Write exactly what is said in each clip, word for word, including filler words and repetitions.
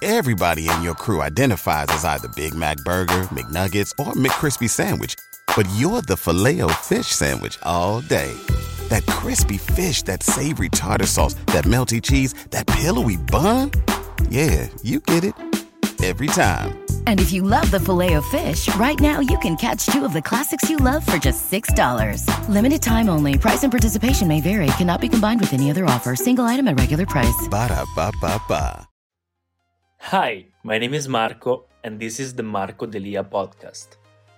Everybody in your crew identifies as either Big Mac Burger, McNuggets, or McCrispy Sandwich. But you're the Filet-O-Fish Sandwich all day. That crispy fish, that savory tartar sauce, that melty cheese, that pillowy bun. Yeah, you get it. Every time. And if you love the Filet-O-Fish, right now you can catch two of the classics you love for just six dollars. Limited time only. Price and participation may vary. Cannot be combined with any other offer. Single item at regular price. Ba-da-ba-ba-ba. Hi, my name is Marco, and this is the Marco Delia podcast.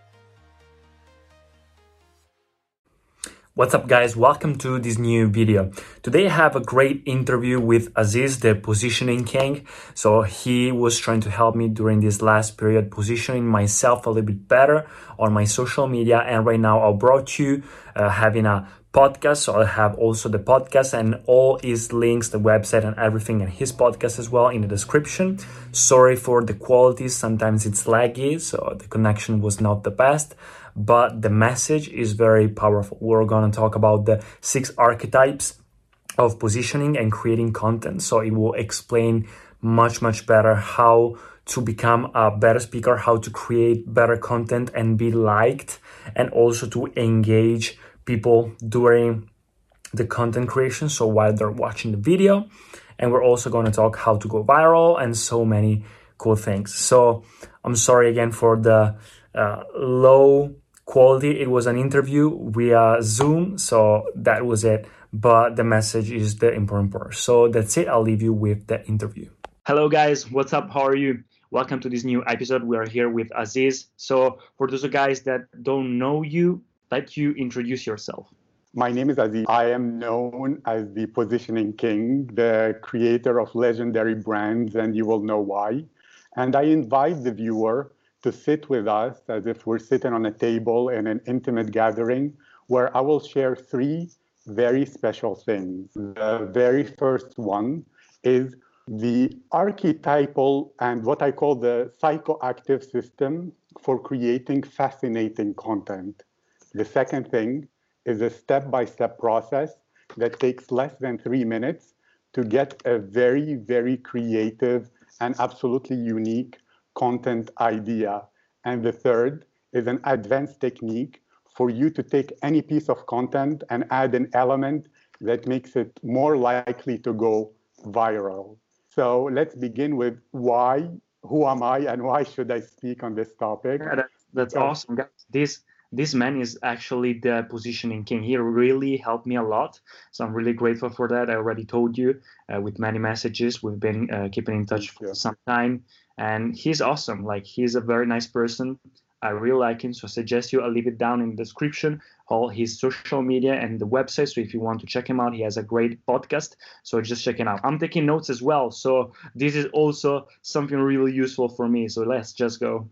What's up, guys? Welcome to this new video. Today I have a great interview with Aziz, the positioning king. So he was trying to help me during this last period, positioning myself a little bit better on my social media. And right now I brought you uh, having a podcast. So I'll have also the podcast and all his links, the website and everything, and his podcast as well in the description. Sorry for the quality. Sometimes it's laggy, so the connection was not the best, but the message is very powerful. We're going to talk about the six archetypes of positioning and creating content. So it will explain much, much better how to become a better speaker, how to create better content and be liked, and also to engage people during the content creation, so while they're watching the video. And we're also going to talk how to go viral and so many cool things. So I'm sorry again for the uh, low quality. It was an interview via Zoom, so that was it. But the message is the important part. So that's it. I'll leave you with the interview. Hello guys, what's up? How are you? Welcome to this new episode. We are here with Aziz. So for those guys that don't know you, let you introduce yourself. My name is Aziz. I am known as the Positioning King, the creator of legendary brands, and you will know why. And I invite the viewer to sit with us as if we're sitting on a table in an intimate gathering where I will share three very special things. The very first one is the archetypal and what I call the psychoactive system for creating fascinating content. The second thing is a step-by-step process that takes less than three minutes to get a very, very creative and absolutely unique content idea. And the third is an advanced technique for you to take any piece of content and add an element that makes it more likely to go viral. So let's begin with why, who am I, and why should I speak on this topic? Yeah, that, that's so, awesome, guys. This This man is actually the positioning king. He really helped me a lot. So I'm really grateful for that. I already told you uh, with many messages. We've been uh, keeping in touch for some time. And he's awesome. Like, he's a very nice person. I really like him. So I suggest you, I'll leave it down in the description, all his social media and the website. So if you want to check him out, he has a great podcast. So just check it out. I'm taking notes as well. So this is also something really useful for me. So let's just go.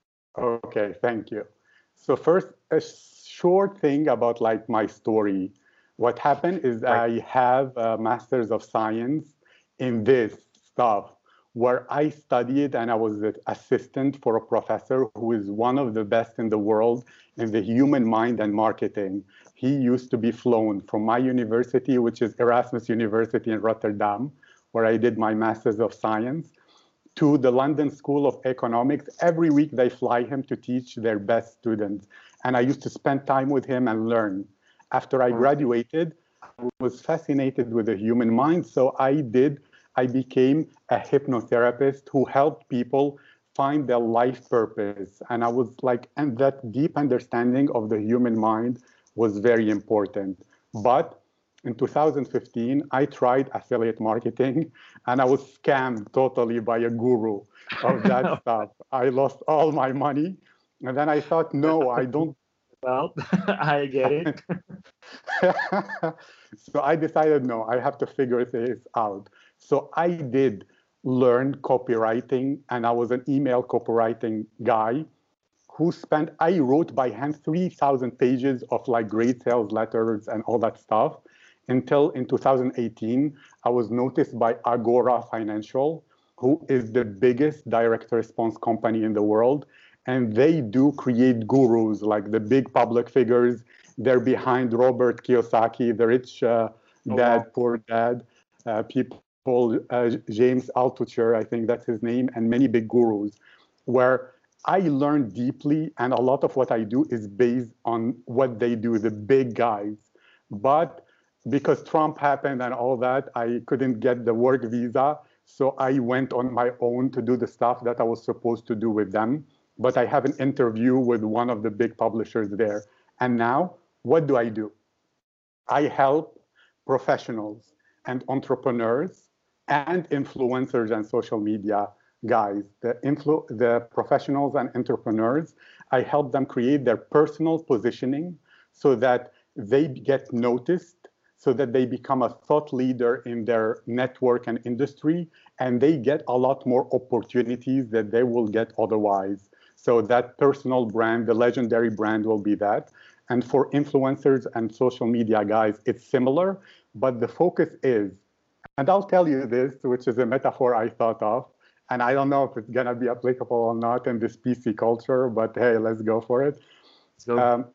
Okay, thank you. So first, a short thing about like my story. What happened is right. I have a master's of science in this stuff where I studied and I was an assistant for a professor who is one of the best in the world in the human mind and marketing. He used to be flown from my university, which is Erasmus University in Rotterdam, where I did my master's of science, to the London School of Economics. Every week they fly him to teach their best students. And I used to spend time with him and learn. After I graduated, I was fascinated with the human mind. So I did, I became a hypnotherapist who helped people find their life purpose. And I was like, and that deep understanding of the human mind was very important. But in two thousand fifteen, I tried affiliate marketing and I was scammed totally by a guru of that stuff. I lost all my money. And then I thought, no, I don't. Well, I get it. So I decided, no, I have to figure this out. So I did learn copywriting, and I was an email copywriting guy who spent, I wrote by hand three thousand pages of like great sales letters and all that stuff. Until in two thousand eighteen, I was noticed by Agora Financial, who is the biggest direct response company in the world. And they do create gurus, like the big public figures. They're behind Robert Kiyosaki, the rich uh, dad, oh, wow. poor dad, uh, people uh, James Altucher, I think that's his name, and many big gurus, where I learn deeply, and a lot of what I do is based on what they do, the big guys. But because Trump happened and all that, I couldn't get the work visa. So I went on my own to do the stuff that I was supposed to do with them. But I have an interview with one of the big publishers there. And now, what do I do? I help professionals and entrepreneurs and influencers and social media guys, the, influ- the professionals and entrepreneurs. I help them create their personal positioning so that they get noticed, so that they become a thought leader in their network and industry, and they get a lot more opportunities that they will get otherwise. So that personal brand, the legendary brand, will be that. And for influencers and social media guys, it's similar, but the focus is, and I'll tell you this, which is a metaphor I thought of, and I don't know if it's gonna be applicable or not in this P C culture, but hey, let's go for it. So, um,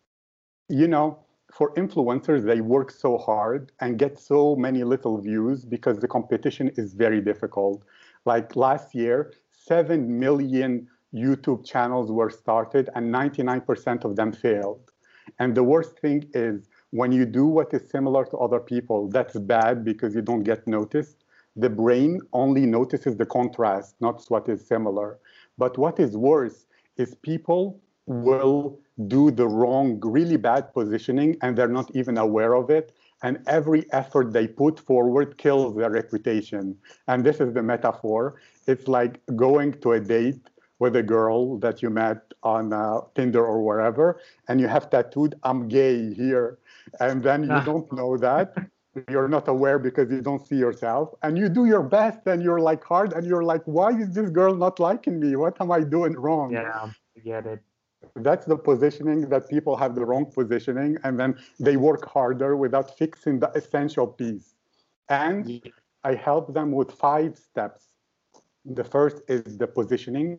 you know, for influencers, they work so hard and get so many little views because the competition is very difficult. Like last year, seven million YouTube channels were started and ninety-nine percent of them failed. And the worst thing is when you do what is similar to other people, that's bad because you don't get noticed. The brain only notices the contrast, not what is similar. But what is worse is people will do the wrong, really bad positioning, and they're not even aware of it. And every effort they put forward kills their reputation. And this is the metaphor. It's like going to a date with a girl that you met on uh, Tinder or wherever, and you have tattooed, "I'm gay" here. And then you Ah. don't know that. You're not aware because you don't see yourself. And you do your best, and you're like hard, and you're like, why is this girl not liking me? What am I doing wrong? yeah, I get it. That's the positioning, that people have the wrong positioning, and then they work harder without fixing the essential piece. And Yeah. I help them with five steps. The first is the positioning,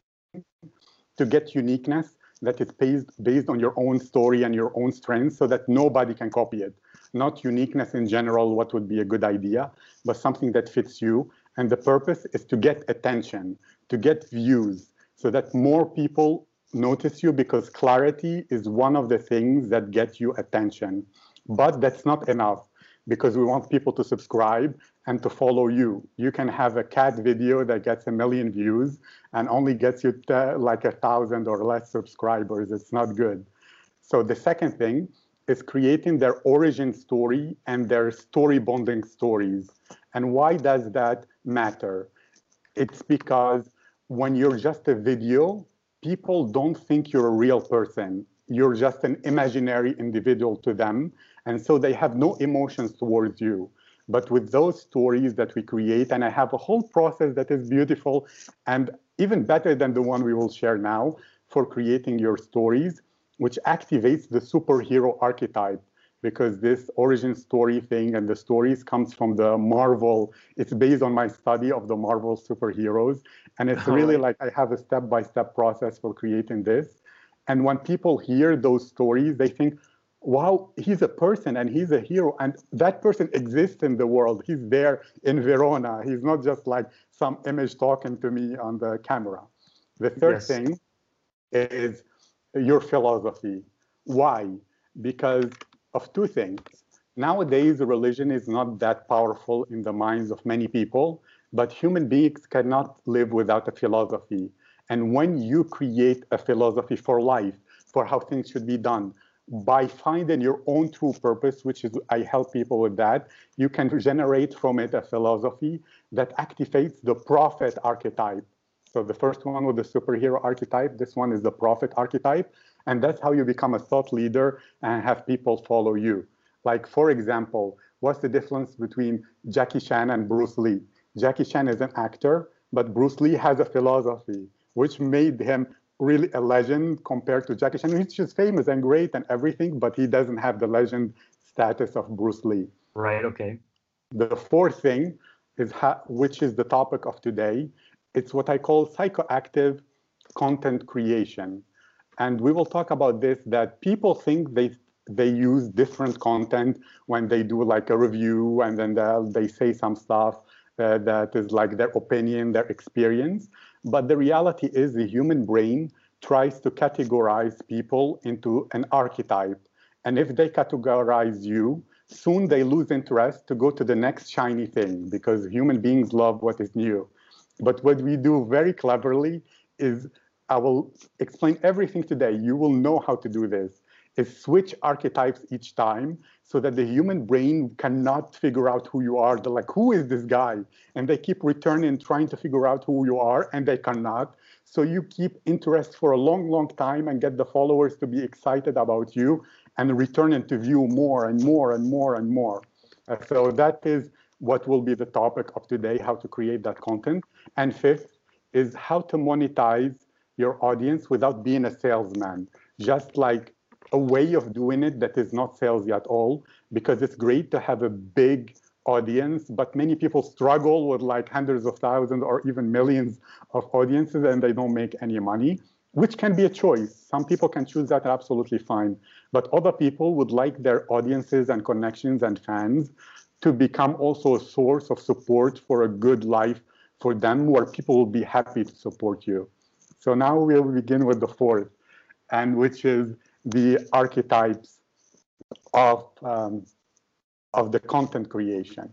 to get uniqueness that is based, based on your own story and your own strengths so that nobody can copy it. Not uniqueness in general, what would be a good idea, but something that fits you. And the purpose is to get attention, to get views, so that more people notice you, because clarity is one of the things that get you attention. But that's not enough, because we want people to subscribe and to follow you. You can have a cat video that gets a million views and only gets you t- like a thousand or less subscribers. It's not good. So the second thing is creating their origin story and their story bonding stories. And why does that matter? It's because when you're just a video, people don't think you're a real person. You're just an imaginary individual to them. And so they have no emotions towards you. But with those stories that we create, and I have a whole process that is beautiful and even better than the one we will share now for creating your stories, which activates the superhero archetype, because this origin story thing and the stories comes from the Marvel. It's based on my study of the Marvel superheroes. And it's really like I have a step-by-step process for creating this. And when people hear those stories, they think, wow, he's a person and he's a hero. And that person exists in the world. He's there in Verona. He's not just like some image talking to me on the camera. The third Yes. thing is your philosophy. Why? Because of two things. Nowadays, religion is not that powerful in the minds of many people, but human beings cannot live without a philosophy. And when you create a philosophy for life, for how things should be done, by finding your own true purpose, which is, I help people with that, you can generate from it a philosophy that activates the prophet archetype. So the first one was the superhero archetype. This one is the prophet archetype. And that's how you become a thought leader and have people follow you. Like, for example, what's the difference between Jackie Chan and Bruce Lee? Jackie Chan is an actor, but Bruce Lee has a philosophy, which made him really a legend compared to Jackie Chan, which is famous and great and everything, but he doesn't have the legend status of Bruce Lee. Right, okay. The fourth thing is, how, which is the topic of today, it's what I call psychoactive content creation. And we will talk about this, that people think they they use different content when they do like a review and then they say some stuff. uh, that is like their opinion, their experience. But the reality is the human brain tries to categorize people into an archetype. And if they categorize you, soon they lose interest to go to the next shiny thing, because human beings love what is new. But what we do very cleverly is, I will explain everything today. You will know how to do this, is switch archetypes each time so that the human brain cannot figure out who you are. They're like, who is this guy? And they keep returning, trying to figure out who you are, and they cannot. So you keep interest for a long, long time and get the followers to be excited about you and return to view more and more and more and more. Uh, so that is what will be the topic of today, how to create that content. And fifth is how to monetize your audience without being a salesman. Just like a way of doing it that is not salesy at all, because it's great to have a big audience, but many people struggle with like hundreds of thousands or even millions of audiences and they don't make any money, which can be a choice. Some people can choose that absolutely fine, but other people would like their audiences and connections and fans to become also a source of support for a good life for them, where people will be happy to support you. So now we'll begin with the fourth, and which is the archetypes of um, of the content creation.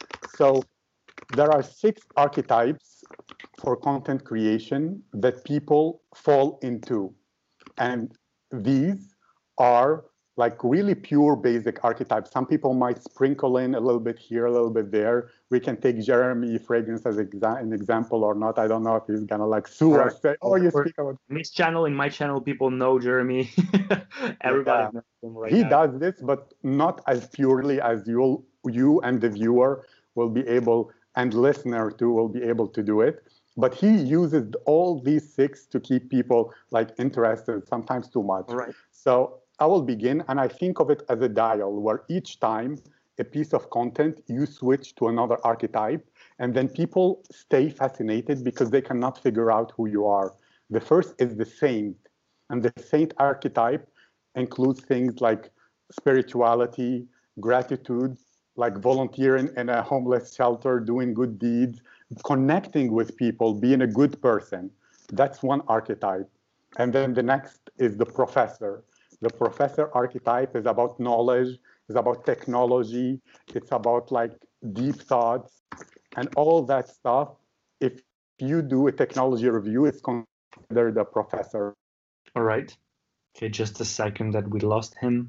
So there are six archetypes for content creation that people fall into. And these are like really pure basic archetypes. Some people might sprinkle in a little bit here, a little bit there. We can take Jeremy Fragrance as exa an example or not. I don't know if he's gonna like sue right. us, say, oh, you For speak about this channel, in my channel, people know Jeremy. Everybody yeah. knows him right he now. does this, but not as purely as you you and the viewer will be able, and listener too will be able to do it. But he uses all these six to keep people like interested, sometimes too much. Right. So I will begin, and I think of it as a dial, where each time a piece of content, you switch to another archetype, and then people stay fascinated because they cannot figure out who you are. The first is the saint, and the saint archetype includes things like spirituality, gratitude, like volunteering in a homeless shelter, doing good deeds, connecting with people, being a good person. That's one archetype. And then the next is the professor. The professor archetype is about knowledge, is about technology, it's about like deep thoughts and all that stuff. If you do a technology review, it's considered a professor. All right. Okay, just a second that we lost him.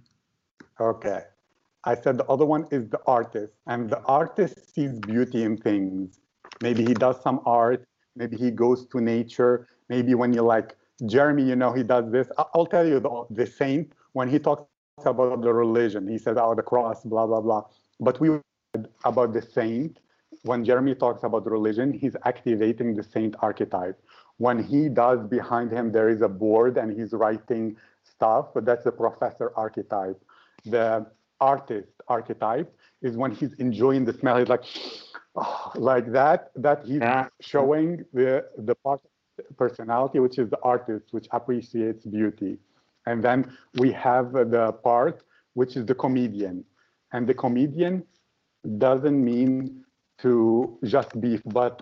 Okay. I said the other one is the artist, and the artist sees beauty in things. Maybe he does some art, maybe he goes to nature, maybe when you like, Jeremy, you know, he does this. I'll tell you, the, the saint, when he talks about the religion, he says, oh, the cross, blah, blah, blah. But we about the saint, when Jeremy talks about religion, he's activating the saint archetype. When he does, behind him, there is a board and he's writing stuff, but that's the professor archetype. The artist archetype is when he's enjoying the smell. He's like, oh, like that, that he's Yeah. showing the, the part of personality, which is the artist, which appreciates beauty. And then we have the part, which is the comedian. And the comedian doesn't mean to just be, but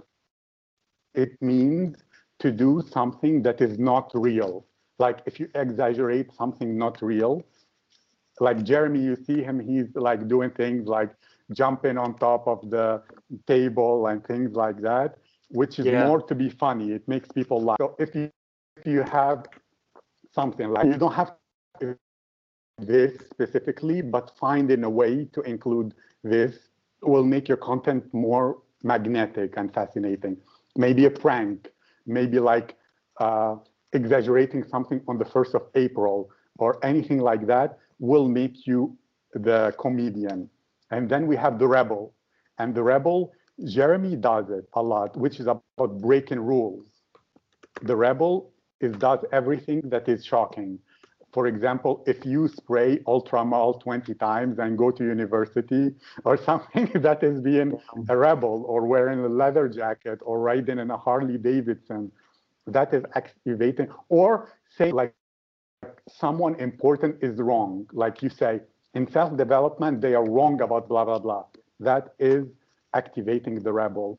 it means to do something that is not real. Like if you exaggerate something not real, like Jeremy, you see him, he's like doing things like jumping on top of the table and things like that, which is Yeah. more to be funny. It makes people laugh. So if you, if you have something like, you don't have to do this specifically, but finding a way to include this will make your content more magnetic and fascinating. Maybe a prank, maybe like uh, exaggerating something on the first of April or anything like that will make you the comedian. And then we have the rebel. And the rebel, Jeremy does it a lot, which is about breaking rules. The rebel is does everything that is shocking. For example, if you spray Ultramall twenty times and go to university or something, that is being a rebel, or wearing a leather jacket or riding in a Harley Davidson, that is activating. Or say like someone important is wrong. Like you say, in self-development, they are wrong about blah, blah, blah. That is activating the rebel.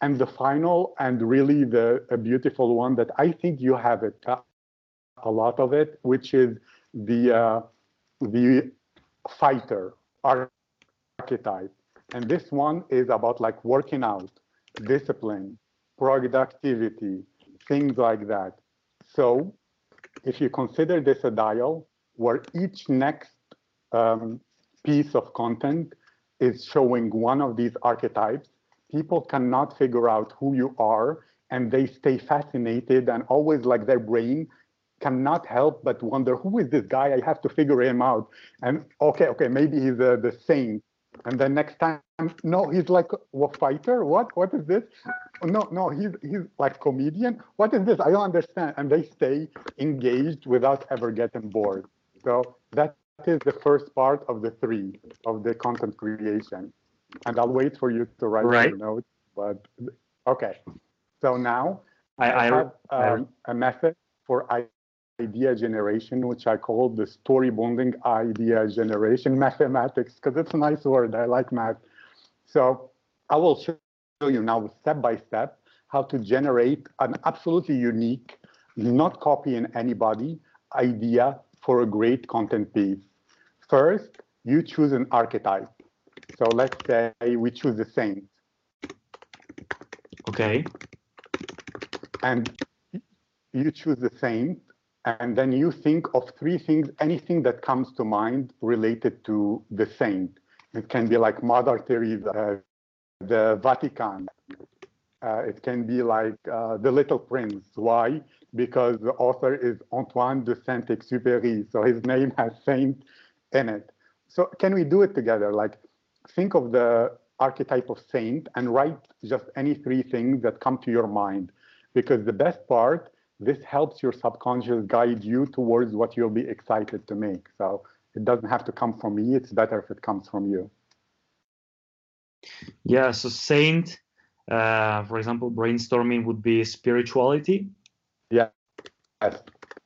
and the final and really the a beautiful one that I think you have it, uh, a lot of it, which is the uh, the fighter archetype. And this one is about like working out, discipline, productivity, things like that. So if you consider this a dial where each next um, piece of content is showing one of these archetypes, people cannot figure out who you are, and they stay fascinated and always like their brain cannot help but wonder, who is this guy? I have to figure him out. And okay, okay, maybe he's uh, the saint. And then next time, no, he's like a fighter. What? What is this? No, no, he's he's like comedian. What is this? I don't understand. And they stay engaged without ever getting bored. So that is the first part of the three of the content creation. And I'll wait for you to write Right. your notes. But okay. So now I, I I, have I um, a method for idea generation, which I call the story bonding idea generation mathematics, because it's a nice word. I like math. So I will show you now step by step how to generate an absolutely unique, not copying anybody, idea for a great content piece. First, you choose an archetype. So let's say we choose the saint. okay. And you choose the saint, and then you think of three things, anything that comes to mind related to the saint. It can be like Mother Teresa, uh, the Vatican. Uh, it can be like uh, The Little Prince. Why? Because the author is Antoine de Saint-Exupéry, so his name has saint in it. So can we do it together? Like, think of the archetype of saint and write just any three things that come to your mind. Because the best part, this helps your subconscious guide you towards what you'll be excited to make. So it doesn't have to come from me. It's better if it comes from you. Yeah, so saint, uh, for example, brainstorming would be spirituality. Yeah. Yes.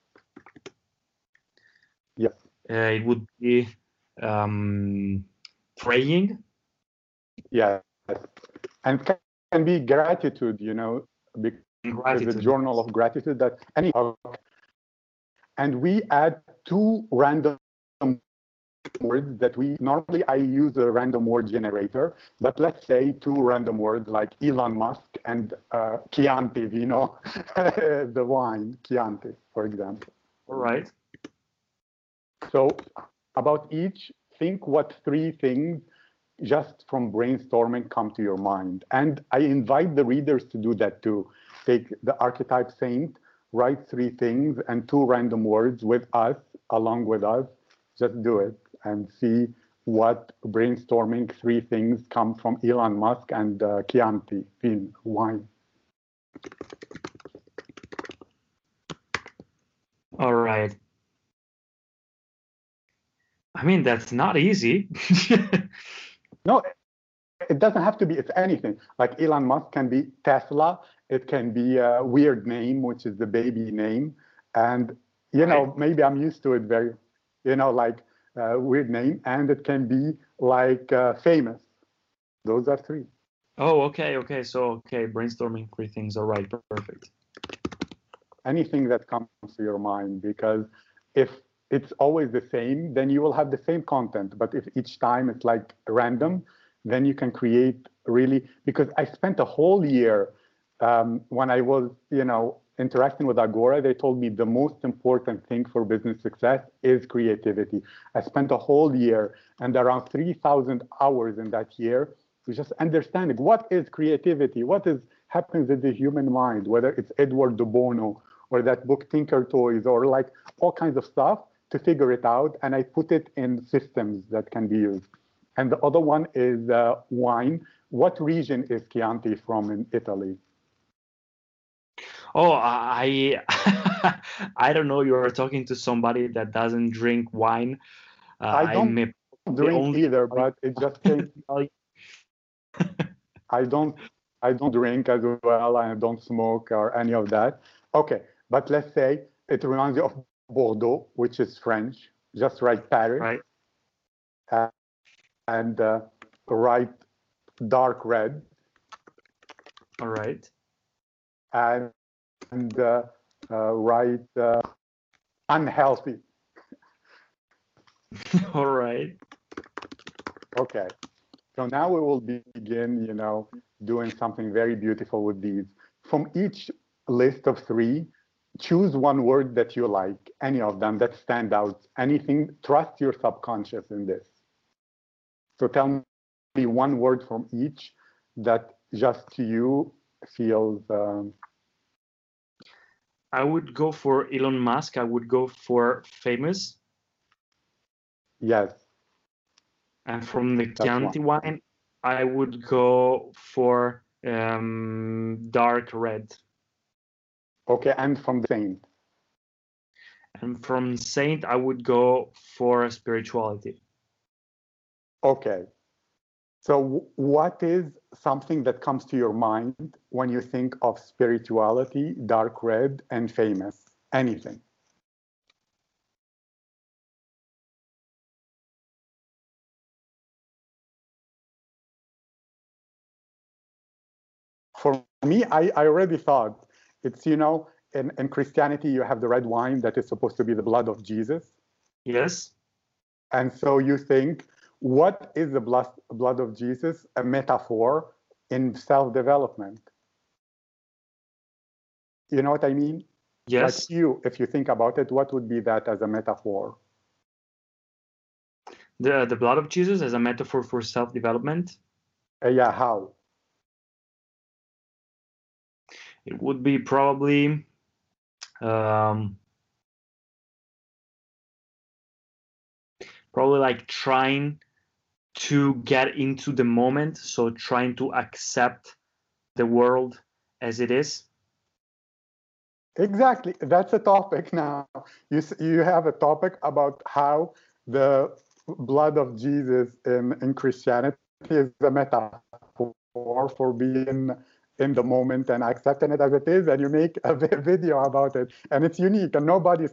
Yes. Uh, it would be um, praying. Yes. And can, can be gratitude, you know, because Gratitude. the journal of gratitude that any and we add two random words that we normally I use a random word generator, but let's say two random words like Elon Musk and uh, Chianti Vino, the wine Chianti, for example. All right. So about each, think what three things just from brainstorming come to your mind. And I invite the readers to do that too. Take the archetype saint, write three things and two random words with us, along with us. Just do it and see what brainstorming three things come from Elon Musk and uh, Chianti, vin, wine. All right. I mean, that's not easy. No, it doesn't have to be, it's anything. Like Elon Musk can be Tesla. It can be a weird name, which is the baby name. And, you know, Right. maybe I'm used to it very, you know, like uh, weird name. And it can be like uh, famous. Those are three. Oh, okay, okay. So, okay, brainstorming three things. All right, perfect. Anything that comes to your mind, because if it's always the same, then you will have the same content. But if each time it's like random, then you can create really, because I spent a whole year um, when I was, you know, interacting with Agora, they told me the most important thing for business success is creativity. I spent a whole year and around three thousand hours in that year to just understanding what is creativity, what is happens in the human mind, whether it's Edward de Bono or that book Tinker Toys or like all kinds of stuff to figure it out. And I put it in systems that can be used. And the other one is uh, wine. What region is Chianti from in Italy? Oh, I I don't know. You are talking to somebody that doesn't drink wine. Uh, I don't I'm a- the drink only either, but it just came. I don't I don't drink as well. I don't smoke or any of that. Okay, but let's say it reminds you of Bordeaux, which is French. Just write Paris right. uh, and uh, write dark red. All right. And, and uh, uh, write uh, unhealthy. All right. Okay. So now we will begin, you know, doing something very beautiful with these. From each list of three, choose one word that you like, any of them that stand out, anything, trust your subconscious in this. So tell me one word from each that just to you feels. Um, I would go for Elon Musk. I would go for famous. yes. And from the Chianti one. wine, I would go for um, dark red. Okay, and from the Saint. And from Saint, I would go for spirituality. Okay. So what is something that comes to your mind when you think of spirituality, dark red, and famous? Anything? For me, I, I already thought it's, you know, in, in Christianity, you have the red wine that is supposed to be the blood of Jesus. Yes. And so you think, what is the blood, blood of Jesus? A metaphor in self-development. You know what I mean? Yes. Like you, if you think about it, what would be that as a metaphor? The, the blood of Jesus as a metaphor for self-development? Uh, yeah, how? It would be probably um, probably like trying to get into the moment, so trying to accept the world as it is. Exactly, that's a topic now. You you have a topic about how the blood of Jesus in, in Christianity is a metaphor for being in the moment and accepting it as it is, and you make a video about it, and it's unique, and nobody's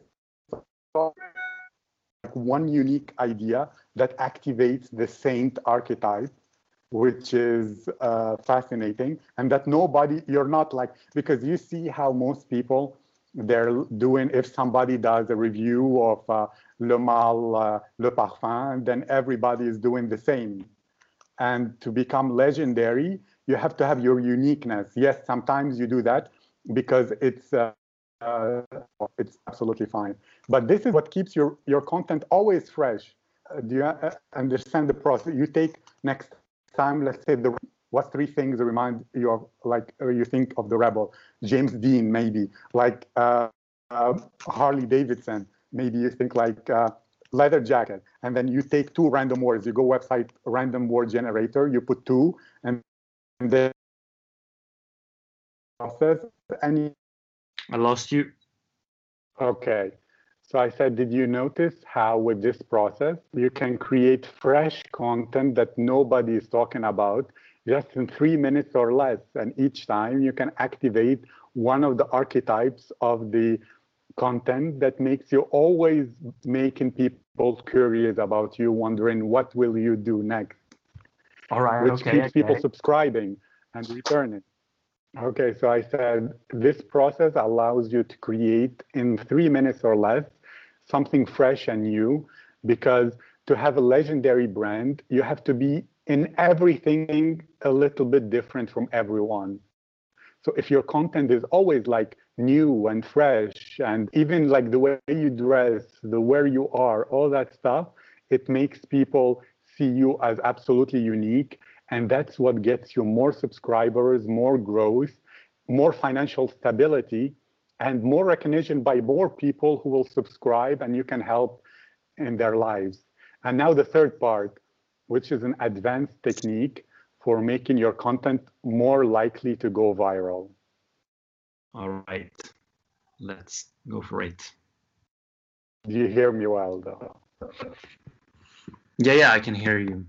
like one unique idea that activates the saint archetype, which is uh, fascinating, and that nobody, you're not like, because you see how most people, they're doing, if somebody does a review of uh, Le Mal, uh, Le Parfum, then everybody is doing the same. And to become legendary, you have to have your uniqueness. Yes, sometimes you do that because it's uh, uh, it's absolutely fine. But this is what keeps your, your content always fresh. Uh, do you uh, understand the process? You take next time, let's say, the what three things remind you of, like uh, you think of the Rebel? James Dean, maybe, like uh, uh, Harley Davidson. Maybe you think like uh, leather jacket, and then you take two random words. You go website random word generator, you put two, and then process any. I lost you. Okay. So I said, did you notice how with this process, you can create fresh content that nobody is talking about just in three minutes or less. And each time you can activate one of the archetypes of the content that makes you always making people curious about you, wondering what will you do next? All right. Which okay, keeps okay. people subscribing and returning. Okay, so I said this process allows you to create in three minutes or less something fresh and new, because to have a legendary brand, you have to be in everything a little bit different from everyone. So if your content is always like new and fresh, and even like the way you dress, the where you are, all that stuff, it makes people see you as absolutely unique. And that's what gets you more subscribers, more growth, more financial stability, and more recognition by more people who will subscribe and you can help in their lives. And now the third part, which is an advanced technique for making your content more likely to go viral. All right, let's go for it. Do you hear me well, though? Yeah, yeah, I can hear you.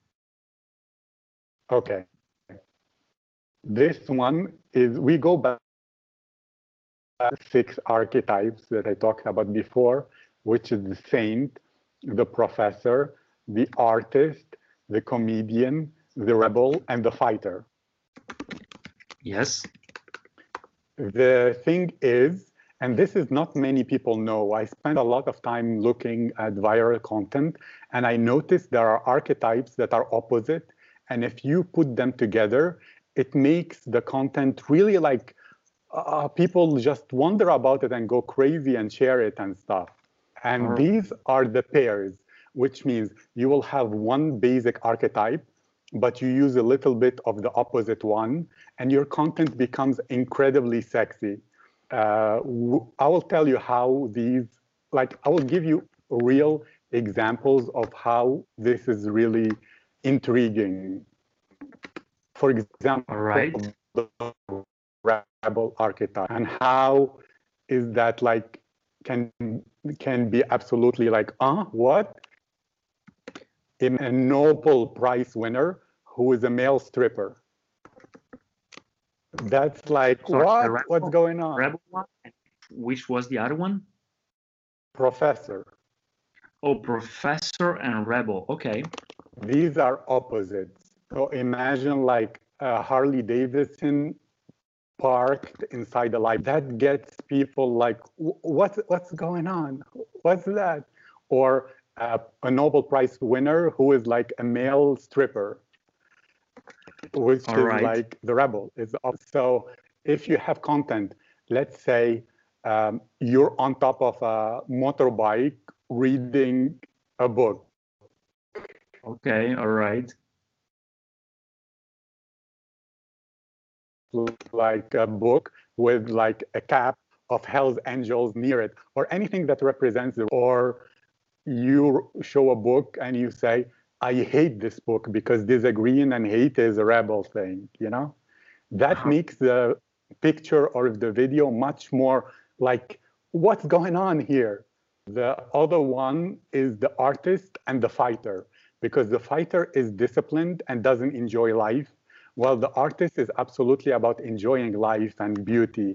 Okay. This one is, we go back to six archetypes that I talked about before, which is the saint, the professor, the artist, the comedian, the rebel, and the fighter. Yes. The thing is, and this is not many people know, I spend a lot of time looking at viral content, and I noticed there are archetypes that are opposite. And if you put them together, it makes the content really like uh, people just wonder about it and go crazy and share it and stuff. And Right. these are the pairs, which means you will have one basic archetype, but you use a little bit of the opposite one, and your content becomes incredibly sexy. Uh, I will tell you how these, like, I will give you real examples of how this is really intriguing. For example, All right. the rebel archetype, and how is that like can can be absolutely like, uh, what? A Nobel Prize winner who is a male stripper. That's like, Sorry, what? the rebel, What's going on? Rebel one? And which was the other one? Professor. Oh, Professor and Rebel. Okay. These are opposites. So imagine like a Harley Davidson parked inside the library. That gets people like, what's what's going on? What's that? Or uh, a Nobel Prize winner who is like a male stripper, which All is right. like the rebel. Is so if you have content, let's say um, you're on top of a motorbike reading a book. Okay, all right. Like a book with like a cap of Hell's Angels near it, or anything that represents the, or you show a book and you say, I hate this book because disagreeing and hate is a rebel thing, you know? That Uh-huh. makes the picture or the video much more like, what's going on here? The other one is the artist and the fighter, because the fighter is disciplined and doesn't enjoy life, while the artist is absolutely about enjoying life and beauty.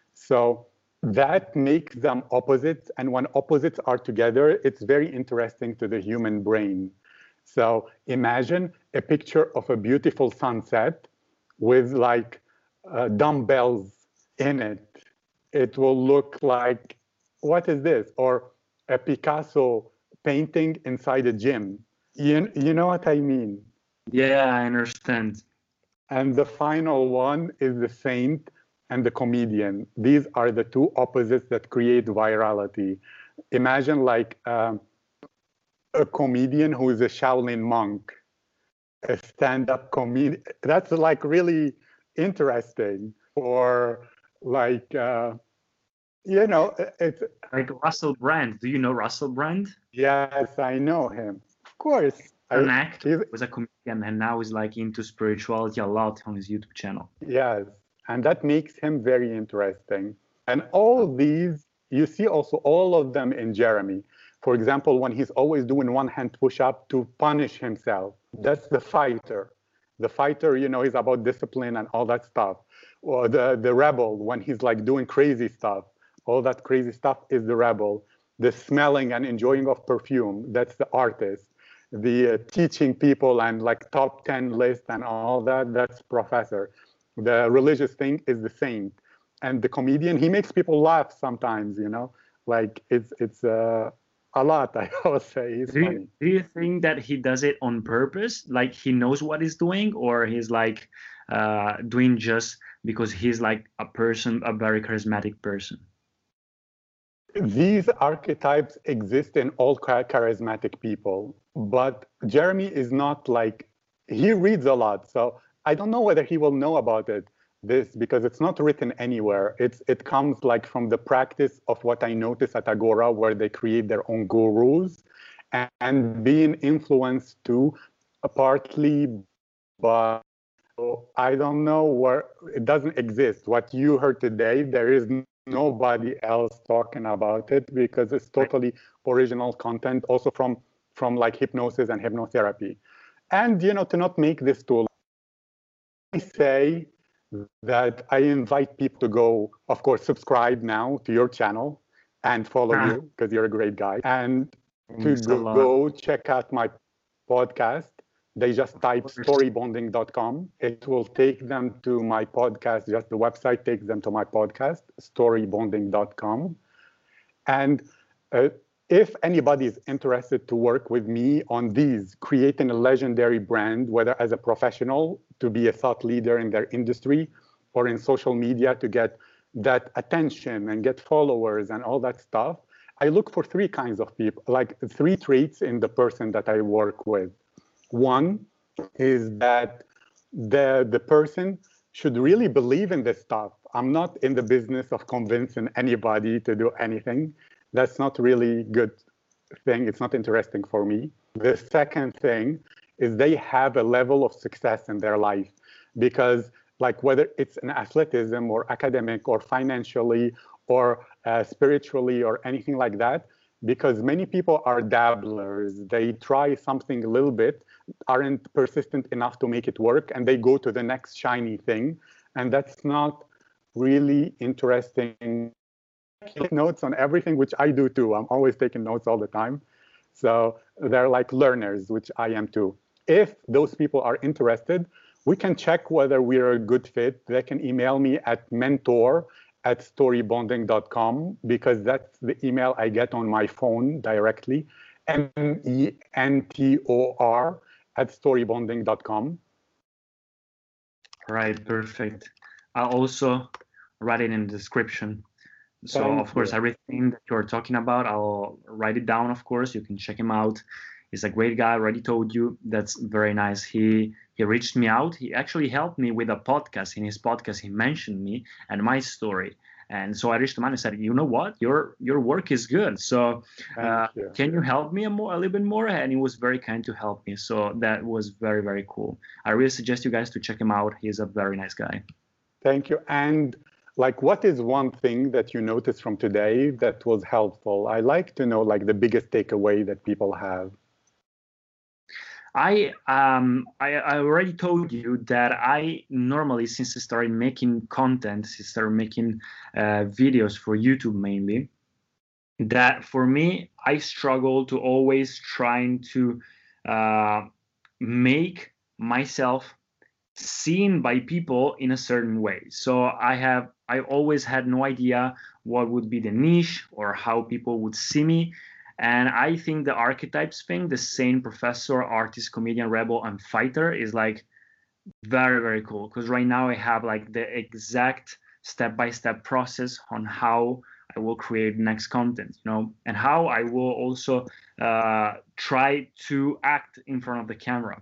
So that makes them opposites. And when opposites are together, it's very interesting to the human brain. So imagine a picture of a beautiful sunset with like uh, dumbbells in it. It will look like, what is this? Or a Picasso painting inside a gym. You, you know what I mean? Yeah, I understand. And the final one is the saint and the comedian. These are the two opposites that create virality. Imagine like um, a comedian who is a Shaolin monk, a stand-up comedian. That's like really interesting. Or like, uh, you know, it's... Like Russell Brand. Do you know Russell Brand? Yes, I know him. Of course. An I, actor, was a comedian, and now he's like into spirituality a lot on his YouTube channel. Yes, and that makes him very interesting. And all these, you see also all of them in Jeremy. For example, when he's always doing one hand push-up to punish himself, that's the fighter. The fighter, you know, he's about discipline and all that stuff. Or the, the rebel, when he's like doing crazy stuff, all that crazy stuff is the rebel. The smelling and enjoying of perfume, that's the artist. The uh, teaching people and like top ten list and all that, that's professor. The religious thing is the saint. And the comedian, he makes people laugh sometimes, you know, like it's it's uh, a lot, I would say. He's do funny. You, do you think that he does it on purpose? Like he knows what he's doing, or he's like uh, doing just because he's like a person, a very charismatic person? These archetypes exist in all charismatic people, but Jeremy is not like, he reads a lot. So I don't know whether he will know about it, this, because it's not written anywhere. It's, it comes like from the practice of what I notice at Agora, where they create their own gurus and, and being influenced too, uh, partly by, so I don't know where, it doesn't exist. What you heard today, there is nobody else talking about it because it's totally original content, also from from like hypnosis and hypnotherapy. And you know, to not make this too long, I say that I invite people to go, of course, subscribe now to your channel and follow ah. you because you're a great guy, and to go, go check out my podcast, they just type storybonding dot com. It will take them to my podcast. Just the website takes them to my podcast, storybonding dot com. And uh, if anybody is interested to work with me on these, creating a legendary brand, whether as a professional to be a thought leader in their industry, or in social media to get that attention and get followers and all that stuff, I look for three kinds of people, like three traits in the person that I work with. One is that the, the person should really believe in this stuff. I'm not in the business of convincing anybody to do anything. That's not really good thing. It's not interesting for me. The second thing is they have a level of success in their life, because like whether it's in athleticism or academic or financially or uh, spiritually or anything like that, because many people are dabblers. They try something a little bit, aren't persistent enough to make it work, and they go to the next shiny thing. And that's not really interesting. Take notes on everything, which I do too. I'm always taking notes all the time. So they're like learners, which I am too. If those people are interested, we can check whether we're a good fit. They can email me at mentor at storybonding dot com, because that's the email I get on my phone directly, M E N T O R at storybonding dot com. Right, perfect. I'll also write it in the description. So, Thank of course, you. everything that you're talking about, I'll write it down, of course. You can check him out. He's a great guy. I already told you. That's very nice. He he reached me out. He actually helped me with a podcast. In his podcast, he mentioned me and my story. And so I reached him out and said, you know what? Your your work is good. So uh, you. can you help me a, more, a little bit more? And he was very kind to help me. So that was very, very cool. I really suggest you guys to check him out. He's a very nice guy. Thank you. And like, what is one thing that you noticed from today that was helpful? I like to know like the biggest takeaway that people have. I um I, I already told you that I normally, since I started making content, since I started making uh, videos for YouTube mainly, that for me, I struggle to always trying to uh, make myself seen by people in a certain way. So I have I always had no idea what would be the niche or how people would see me. And I think the archetypes thing, the saint, professor, artist, comedian, rebel, and fighter, is like very, very cool. Because right now I have like the exact step-by-step process on how I will create next content, you know, and how I will also uh, try to act in front of the camera.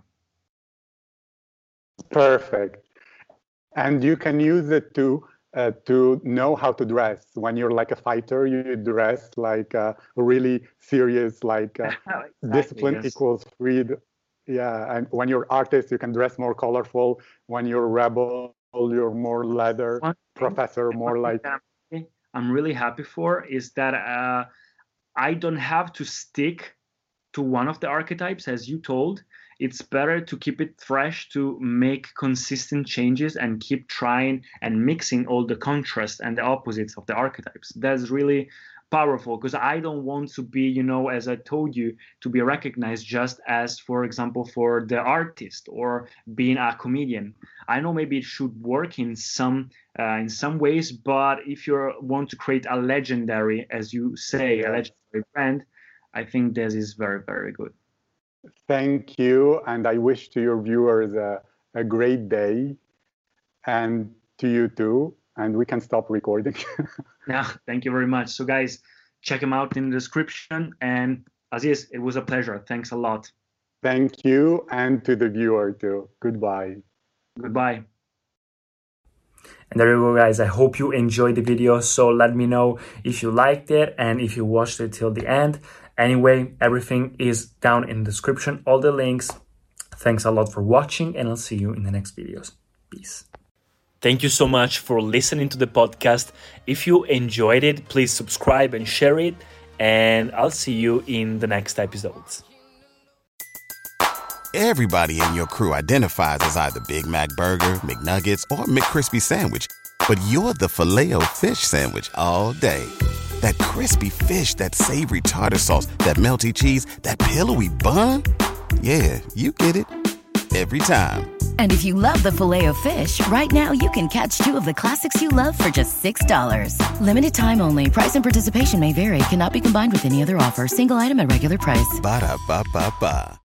Perfect. And you can use it to uh, to know how to dress. When you're like a fighter, you dress like uh, really serious, like uh, Exactly, discipline yes. equals freedom. Yeah, and when you're artist, you can dress more colorful. When you're rebel, you're more leather. One thing- Professor, more like that I'm- I'm really happy for is that uh, I don't have to stick to one of the archetypes, as you told. It's better to keep it fresh, to make consistent changes and keep trying and mixing all the contrast and the opposites of the archetypes. That's really powerful, because I don't want to be, you know, as I told you, to be recognized just as, for example, for the artist or being a comedian. I know maybe it should work in some uh, in some ways, but if you want to create a legendary, as you say, a legendary brand, I think this is very, very good. thank you. And I wish to your viewers a, a great day, and to you too. And we can stop recording. Yeah, thank you very much. So guys, check him out in the description. And Aziz, it was a pleasure. Thanks a lot. Thank you, and to the viewer too. Goodbye. Goodbye. And there you go, guys. I hope you enjoyed the video. So let me know if you liked it and if you watched it till the end. Anyway, everything is down in the description, all the links. Thanks a lot for watching, and I'll see you in the next videos. Peace. Thank you so much for listening to the podcast. If you enjoyed it, please subscribe and share it. And I'll see you in the next episodes. Everybody in your crew identifies as either Big Mac Burger, McNuggets, or McCrispy Sandwich. But you're the Filet-O-Fish Sandwich all day. That crispy fish, that savory tartar sauce, that melty cheese, that pillowy bun. Yeah, you get it. every time. And if you love the Filet-O-Fish, right now you can catch two of the classics you love for just six dollars. Limited time only. Price and participation may vary. Cannot be combined with any other offer. Single item at regular price. Ba-da-ba-ba-ba.